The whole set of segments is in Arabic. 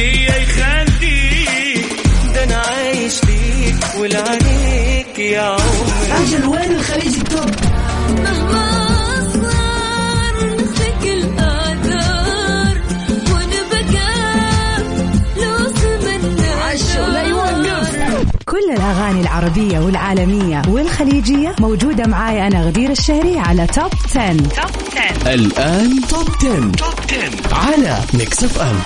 ليا يخليك، ده أنا عايش ليك ولعنيك يا عمري. أجل وين الخليج التوب؟ مهما أصغر نسلك الآثار ونبقى نوصل من عشو لا يوقف. كل الأغاني العربية والعالمية والخليجية موجودة معاي أنا غدير الشهري على توب 10. الآن توب 10 على ميكس اف ام.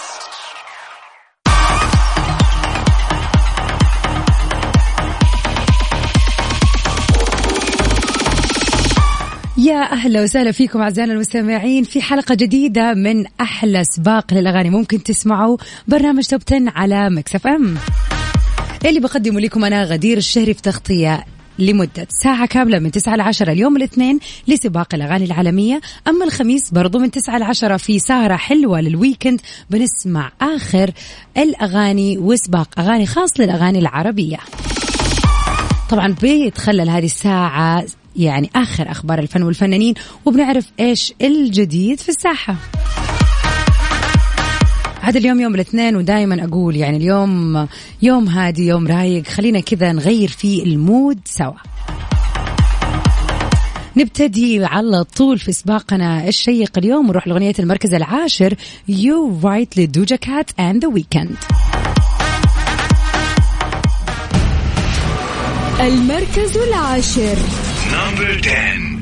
يا أهلا وسهلا فيكم أعزائنا المستمعين في حلقة جديدة من أحلى سباق للأغاني ممكن تسمعوا برنامج توب 10 على ميكس اف ام اللي بقدمه لكم أنا غدير الشهري في تغطية لمدة ساعة كاملة من 9 ل 10 اليوم الاثنين لسباق الأغاني العالمية. أما الخميس برضو من 9 ل 10 في سهرة حلوة للويكند بنسمع آخر الأغاني وسباق أغاني خاص للأغاني العربية. طبعا بيتخلل هذه الساعة يعني آخر أخبار الفن والفنانين وبنعرف إيش الجديد في الساحة. هذا اليوم يوم الاثنين ودائما أقول يعني اليوم يوم هادي يوم رايق، خلينا كذا نغير فيه المود سوا. نبتدي على طول في سباقنا الشيق اليوم ونروح لأغنية المركز العاشر You Right لدوجا كات and The Weeknd. المركز العاشر Number 10.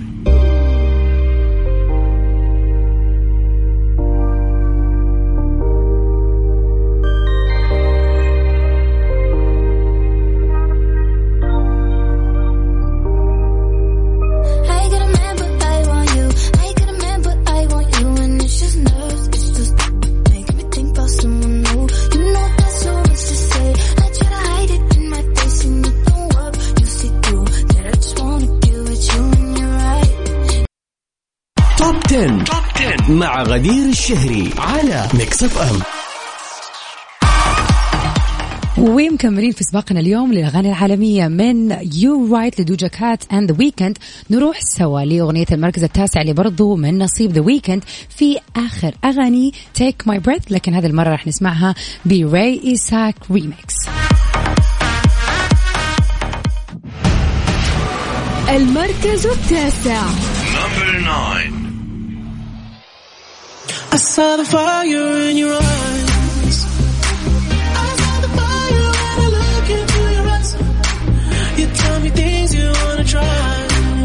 توب 10 مع غدير الشهري على ميكس اف ام. ومكملين في سباقنا اليوم للأغاني العالمية من You Right لدوجا كات and The Weeknd. نروح سوا لأغنية المركز التاسع اللي برضو من نصيب The Weeknd في آخر أغاني Take My Breath، لكن هذه المرة رح نسمعها براي إيساك ريميكس. المركز التاسع Number 9. I saw the fire in your eyes. I saw the fire when I look into your eyes. You tell me things you wanna try.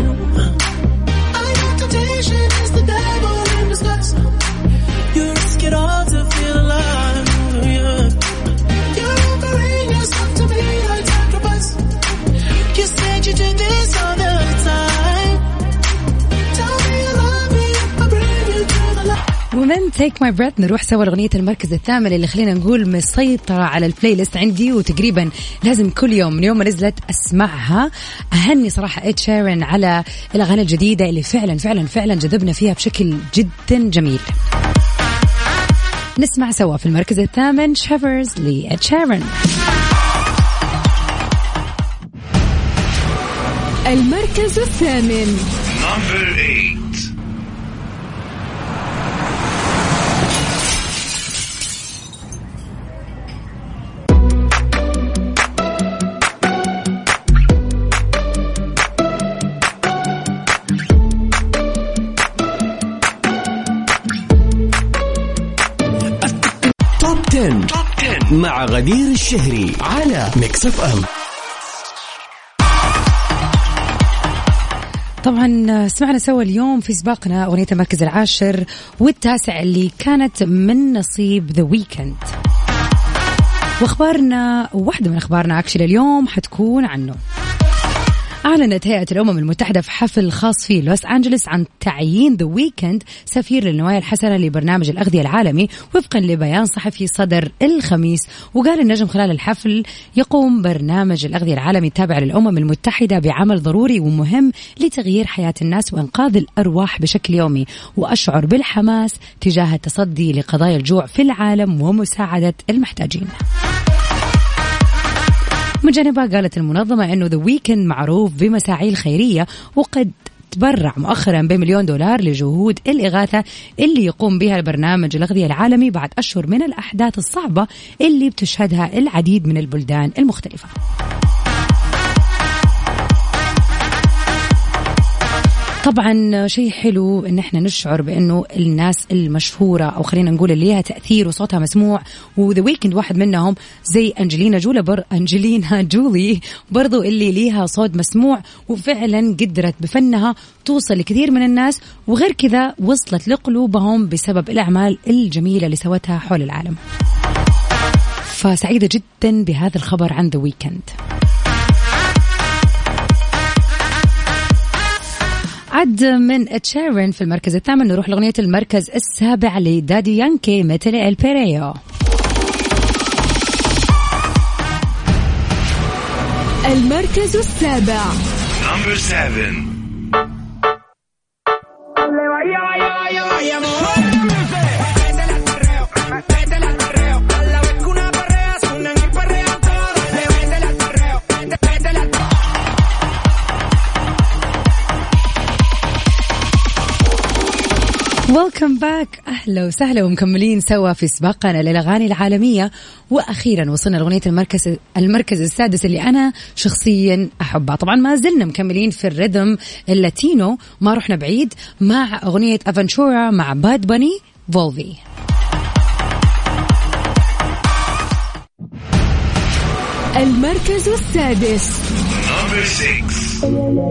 I know temptation is the devil in disguise. You risk it all to feel alive. Yeah. You're offering yourself to me like sacrifice. You said you did this all the time. Tell me you love me, I bring you to the light. ومن Take My Breath نروح سوا لأغنية المركز الثامن اللي خلينا نقول مسيطرة على البلاي ليست عندي وتقريبا لازم كل يوم من يوم ما نزلت أسمعها. أهني صراحة إد شيران على الأغاني الجديدة اللي فعلا جذبنا فيها بشكل جدا جميل. نسمع سوا في المركز الثامن Shivers لإد شيران. المركز الثامن Number 8. توب 10 مع غدير الشهري على ميكس اف ام. طبعا سمعنا سوا اليوم في سباقنا أغنية المركز العاشر والتاسع اللي كانت من نصيب The Weeknd. واخبارنا واحدة من اخبارنا اكشلي اليوم حتكون عنه. أعلنت هيئة الأمم المتحدة في حفل خاص في لوس أنجلوس عن تعيين The Weeknd سفير للنوايا الحسنة لبرنامج الأغذية العالمي وفقا لبيان صحفي صدر الخميس. وقال النجم خلال الحفل يقوم برنامج الأغذية العالمي التابع للأمم المتحدة بعمل ضروري ومهم لتغيير حياة الناس وإنقاذ الأرواح بشكل يومي، وأشعر بالحماس تجاه التصدي لقضايا الجوع في العالم ومساعدة المحتاجين. من جانبها قالت المنظمة أنه The Weeknd معروف بمساعيه الخيرية وقد تبرع مؤخرا ب$1 مليون لجهود الإغاثة اللي يقوم بها البرنامج الأغذية العالمي بعد أشهر من الأحداث الصعبة اللي بتشهدها العديد من البلدان المختلفة. طبعا شيء حلو ان احنا نشعر بانه الناس المشهوره او خلينا نقول اللي لها تاثير وصوتها مسموع، وذا ويكند واحد منهم، زي انجلينا جولي برضو اللي ليها صوت مسموع وفعلا قدرت بفنها توصل لكثير من الناس، وغير كذا وصلت لقلوبهم بسبب الاعمال الجميله اللي سوتها حول العالم. فسعيده جدا بهذا الخبر عن ذا ويكند. عد من تشيرين في المركز الثامن، نروح لأغنية المركز السابع لدادي يانكي مثل البيريو. المركز السابع. Number 7. ويلكم باك، أهلا وسهلا ومكملين سوا في سباقنا للأغاني العالمية. وأخيرا وصلنا لأغنية المركز السادس اللي أنا شخصيا أحبها. طبعا ما زلنا مكملين في الريذم اللاتينو، ما رحنا بعيد مع أغنية أفنتورا مع باد باني فولفي. المركز السادس. Number 6.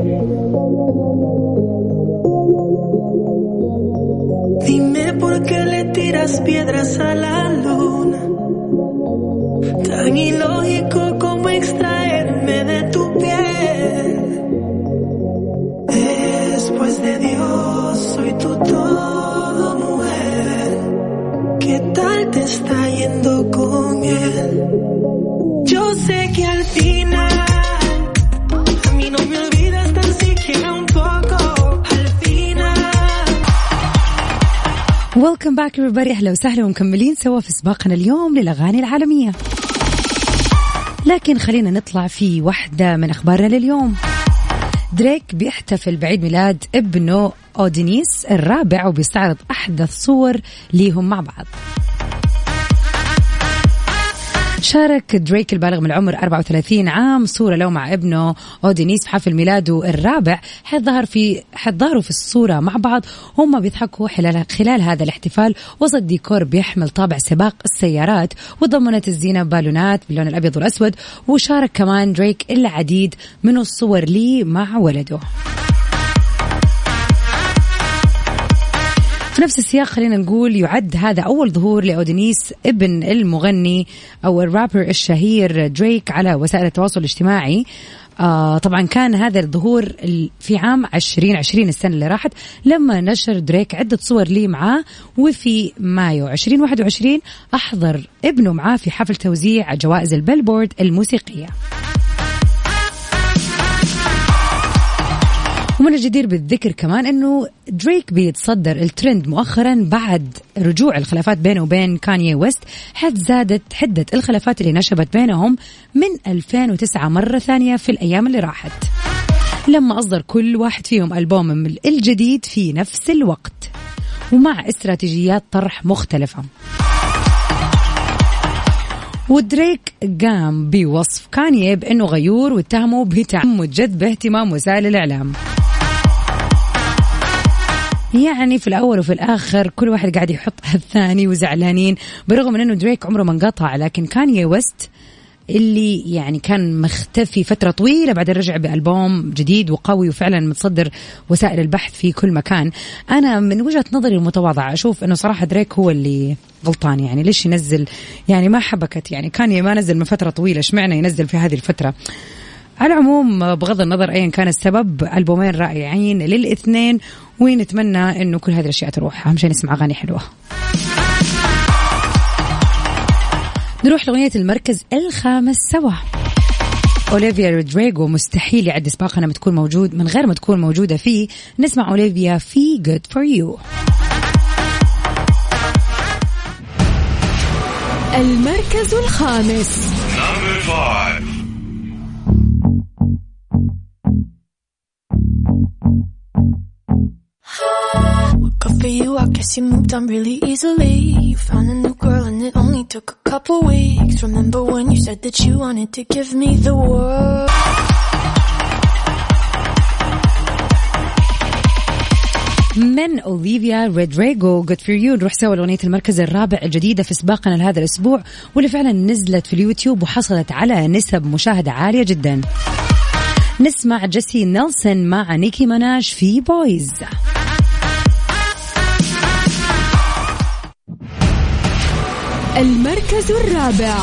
Dime por qué le tiras piedras a la luna. Tan ilógico como extraerme de tu piel. Después de Dios soy tu todo, mujer. ¿Qué tal te está yendo con él? Yo sé que al final a mí no me olvidas tan siquiera un poco. Welcome back everybody، أهلا وسهلا ومكملين سوا في سباقنا اليوم للأغاني العالمية. لكن خلينا نطلع في واحدة من أخبارنا لليوم. دريك بيحتفل بعيد ميلاد ابنه أودينيس الرابع وبيستعرض أحدث صور ليهم مع بعض. شارك دريك البالغ من العمر 34 عام صورة له مع ابنه أودينيس في حفل ميلاده الرابع، حظهروا في الصورة مع بعض هم بيضحكوا خلال هذا الاحتفال وسط ديكور بيحمل طابع سباق السيارات، وضمنت الزينة بالونات باللون الأبيض والأسود. وشارك كمان دريك العديد من الصور لي مع ولده. في نفس السياق خلينا نقول يعد هذا أول ظهور لأودينيس ابن المغني أو الرابر الشهير دريك على وسائل التواصل الاجتماعي. طبعا كان هذا الظهور في عام 2020 السنة اللي راحت لما نشر دريك عدة صور لي معاه، وفي مايو 2021 أحضر ابنه معاه في حفل توزيع جوائز البيلبورد الموسيقية. ومن الجدير بالذكر كمان أنه دريك بيتصدر الترند مؤخرا بعد رجوع الخلافات بينه وبين كانيي ويست، حيث زادت حدة الخلافات اللي نشبت بينهم من 2009 مرة ثانية في الأيام اللي راحت، لما أصدر كل واحد فيهم ألبوم الجديد في نفس الوقت ومع استراتيجيات طرح مختلفة. ودريك قام بوصف كانيي بأنه غيور واتهمه بتعمد جذب اهتمام وسائل الإعلام. يعني في الأول وفي الآخر كل واحد قاعد يحط الثاني وزعلانين، برغم من أنه دريك عمره ما انقطع، لكن كانيي ويست اللي يعني كان مختفي فترة طويلة بعد رجع بألبوم جديد وقوي وفعلا متصدر وسائل البحث في كل مكان. أنا من وجهة نظري المتواضعة أشوف أنه صراحة دريك هو اللي غلطان. يعني ليش ينزل؟ يعني ما حبكت، يعني كان ما نزل من فترة طويلة، اشمعنى ينزل في هذه الفترة؟ على العموم بغض النظر أيا كان السبب، ألبومين رائعين للاثنين، ونتمنى أنه كل هذه الأشياء تروح. أهم شيء نسمع أغاني حلوة. نروح لأغنية المركز الخامس سوا. أوليفيا رودريغو مستحيل يعد سباقنا تكون موجود من غير ما تكون موجودة فيه. نسمع أوليفيا في Good For You. المركز الخامس. Number 5. you moved on really easily. You found a new girl and it only took a couple weeks. Remember when you said that you wanted to give me the world? من أوليفيا رودريغو Good for you. نروح سوا لأغنية المركز الرابع الجديدة في سباقنا لهذا الأسبوع واللي فعلا نزلت في اليوتيوب وحصلت على نسب مشاهدة عالية جدا. نسمع جيسي نيلسون مع نيكي مناج في بويز. المركز الرابع.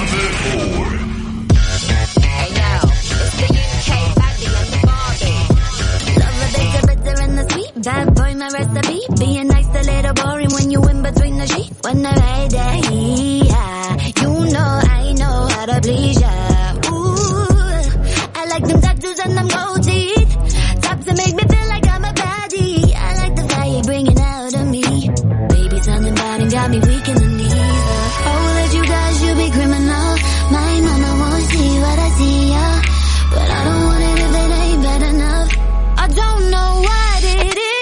Bad boy, my recipe. Being nice, a little boring when you in between the sheets. When I ride that heat, you know I know how to please ya. Ooh, I like them tattoos and them gold teeth. Top to make me feel like I'm a baddie. I like the fire you're bringing out of me. Baby, something bad and got me weak in the knees. Oh, that you guys, you be criminal. My mama won't see what I see, yeah. But I don't want it if it ain't bad enough. I don't know what it is.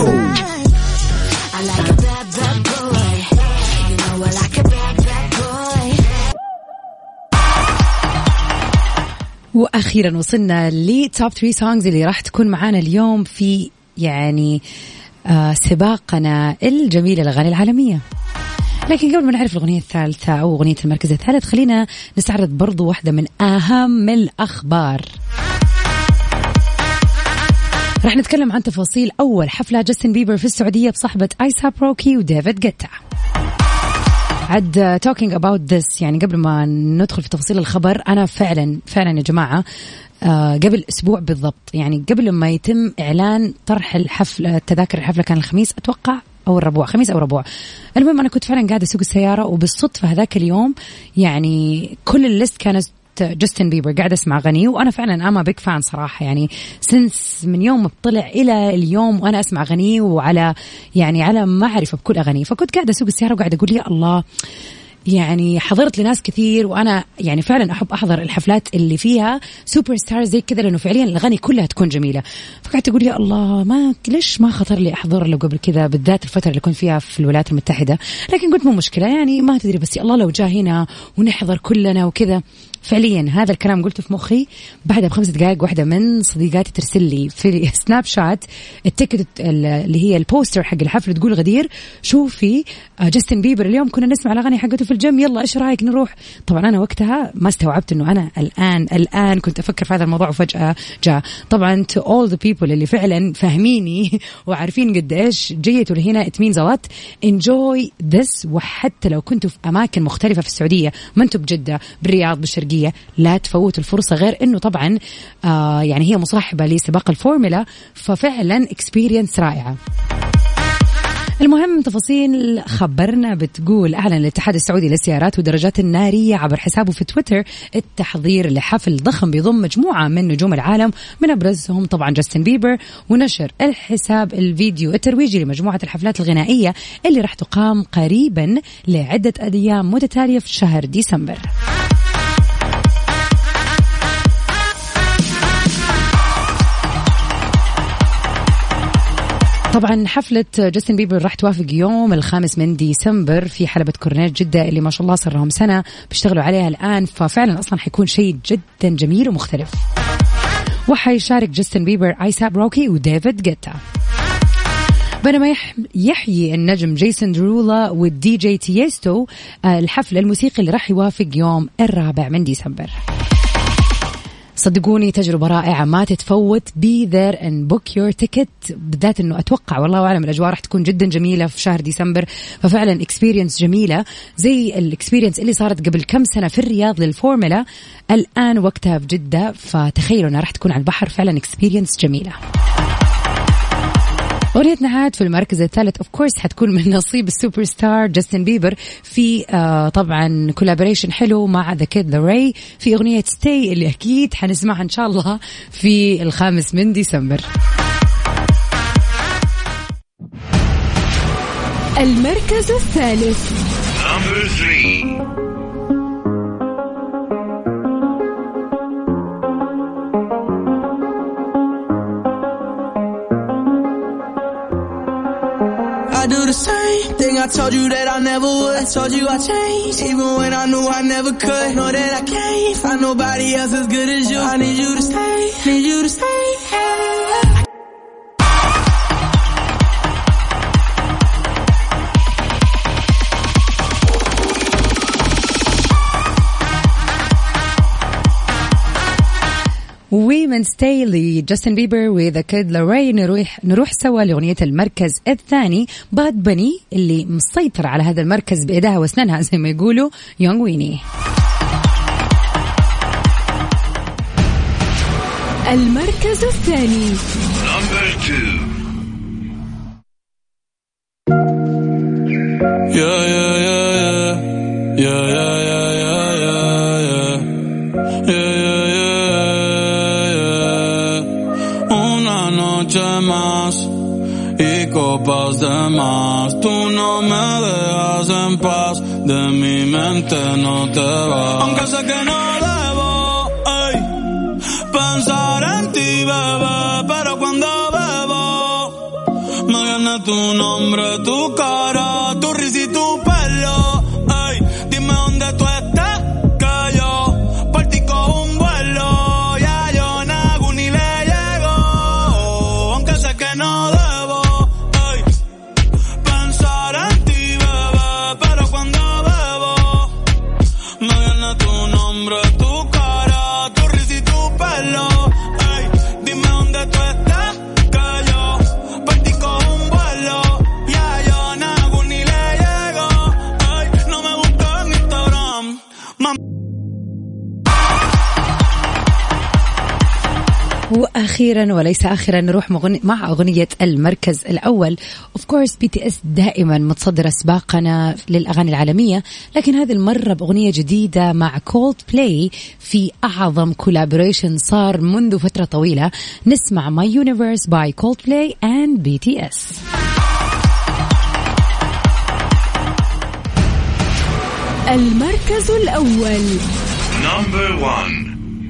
I like a bad, bad boy. You know I like a bad, bad boy. وأخيرا وصلنا لتوب 3 سونجز اللي راح تكون معانا اليوم في يعني سباقنا الجميل الأغاني العالمية. لكن قبل ما نعرف الأغنية الثالثة أو أغنية المركز الثالث خلينا نستعرض برضو واحدة من أهم الأخبار. راح نتكلم عن تفاصيل أول حفلة جاستن بيبر في السعودية بصحبة آيساب روكي وديفيد جيتا. عد talking about this يعني قبل ما ندخل في تفاصيل الخبر أنا فعلا يا جماعة قبل أسبوع بالضبط يعني قبل ما يتم إعلان طرح الحفلة تذاكر الحفلة كان الخميس أتوقع أو الربوع خميس أو ربوع. المهم أنا كنت فعلا قاعدة أسوق السيارة وبالصدفة هذاك اليوم يعني كل الليست كانت جاستن بيبر قاعد أسمع أغاني وأنا فعلا أما بيك فان صراحة يعني سنس من يوم ما طلع إلى اليوم وأنا أسمع أغاني وعلى يعني على معرفة بكل أغاني. فكنت قاعدة أسوق السيارة وقاعدة أقول يا الله يعني حضرت لناس كثير وأنا يعني فعلا أحب أحضر الحفلات اللي فيها سوبر ستار زي كذا لأنه فعليا الأغاني كلها تكون جميلة. فقعدت أقول يا الله ما ليش ما خطر لي أحضر له قبل كذا بالذات الفترة اللي كنت فيها في الولايات المتحدة. لكن قلت مو مشكلة يعني ما تدري بس يا الله لو جاء هنا ونحضر كلنا وكذا. فعليا هذا الكلام قلته في مخي بعدها ب5 دقائق واحدة من صديقاتي ترسل لي في سناب شات التيكت اللي هي البوستر حق الحفلة تقول غدير شوفي جاستن بيبر اليوم كنا نسمع الأغاني حقته في الجيم يلا إيش رأيك نروح. طبعا أنا وقتها ما استوعبت إنه أنا الآن كنت أفكر في هذا الموضوع وفجأة جاء. طبعا to all the people اللي فعلا فاهميني وعارفين قد إيش جيتوا لهنا it means a lot enjoy this. وحتى لو كنتوا في أماكن مختلفة في السعودية ما أنتوا بجدة بالرياض بالشرقية لا تفوتوا الفرصة. غير انه طبعا يعني هي مصاحبة لسباق الفورمولا ففعلا اكسبيرينس رائعة. المهم تفاصيل خبرنا بتقول أعلن الاتحاد السعودي للسيارات والدراجات النارية عبر حسابه في تويتر التحضير لحفل ضخم بيضم مجموعة من نجوم العالم من أبرزهم طبعا جاستن بيبر. ونشر الحساب الفيديو الترويجي لمجموعة الحفلات الغنائية اللي راح تقام قريبا لعدة أيام متتالية في شهر ديسمبر. طبعا حفلة جاستن بيبر راح توافق يوم 5 من ديسمبر في حلبة كورنيش جدة اللي ما شاء الله صار لهم سنة بيشتغلوا عليها الآن. ففعلا أصلا حيكون شيء جدا جميل ومختلف. وحيشارك جاستن بيبر آيساب روكي وديفيد جيتا بينما يحيي النجم جيسون درولا والدي جي تيستو الحفل الموسيقي اللي راح يوافق يوم 4 من ديسمبر. صدقوني تجربة رائعة ما تتفوت. be there and book your ticket بالذات انه اتوقع والله اعلم الاجواء راح تكون جدا جميلة في شهر ديسمبر. ففعلا experience جميلة زي الاكسبيرينس اللي صارت قبل كم سنة في الرياض للفورمولا الان وقتها في جدة. فتخيلوا انها راح تكون على البحر فعلا experience جميلة. أغنية نهاد في المركز الثالث of course حتكون من نصيب السوبر ستار جاستن بيبر في طبعا كولابوريشن حلو مع The Kid Laroi في أغنية Stay اللي أكيد حنسمعها إن شاء الله في 5 من ديسمبر. المركز الثالث Number 3. I do the same thing I told you that I never would. I told you I changed, even when I knew I never could. Know that I can't find nobody else as good as you. I need you to stay, need you to stay. ومن ستايلي جاستن بيبر وذا كيد لاراي نروح سوا لأغنية المركز الثاني باد بني اللي مسيطر على هذا المركز بإيدها واسنانها زي ما يقولوا يونغ ويني. المركز الثاني Number 2. Una noche más y copas de más. Tú no me dejas en paz, de mi mente no te vas. Aunque sé que no debo pensar en ti, bebé, pero cuando bebo me viene tu nombre, tu cara, tu risa y tu pelo. Dime dónde tú estás, que yo partí con un vuelo. Ya yo nago ni le llego, aunque sé que no debo pensar en ti, bebé, pero cuando bebo me viene tu nombre, tu cara, tu risa y tu pelo. Dime dónde tú estás, que yo partí con un vuelo. Ya yo nago ni le llego. No me busco en Instagram. وأخيرا وليس آخرا نروح مع أغنية المركز الأول. Of course BTS دائما متصدر أسباقنا للأغاني العالمية، لكن هذه المرة بأغنية جديدة مع Coldplay في أعظم collaboration صار منذ فترة طويلة. نسمع My Universe by Coldplay and BTS. المركز الأول. Number 1.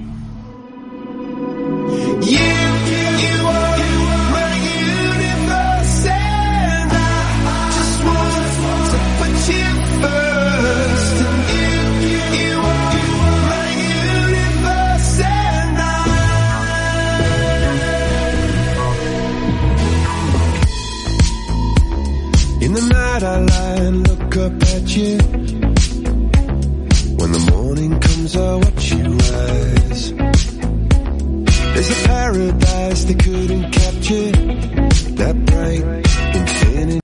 In the night I lie and look up at you. When the morning comes I watch you rise. There's a paradise they couldn't capture. That bright infinity.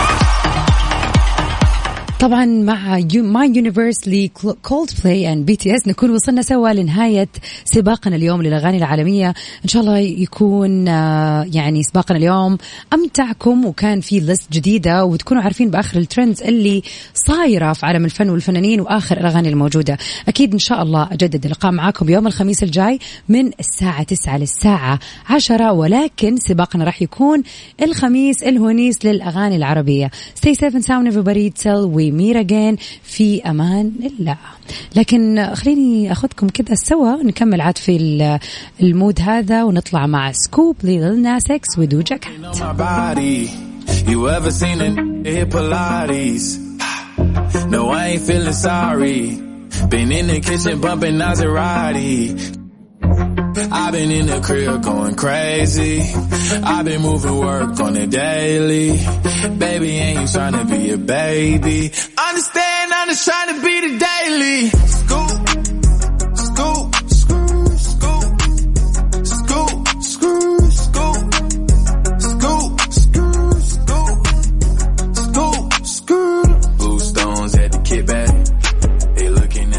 طبعا مع My Universe لColdplay and BTS نكون وصلنا سوا لنهاية سباقنا اليوم للأغاني العالمية. إن شاء الله يكون يعني سباقنا اليوم أمتعكم وكان في ليست جديدة وتكونوا عارفين بآخر الترندز اللي صايرة في عالم الفن والفنانين وآخر الأغاني الموجودة. أكيد إن شاء الله أجدد اللقاء معاكم يوم الخميس الجاي من الساعة 9 للساعة 10، ولكن سباقنا راح يكون الخميس الهونيس للأغاني العربية. Stay safe and sound everybody. Till ميرا جين في أمان الله. لكن خليني أخذكم كده سوا نكمل عاد في المود هذا ونطلع مع سكوب ليل ناس إكس ودوجا كات. You ever seen a hit Pilates? No, I ain't feeling sorry. Been in the kitchen bumping Maserati. I've been in the crib going crazy. I've been moving work on the daily. Baby, ain't you trying to be a baby? Understand, I'm just trying to be the daily.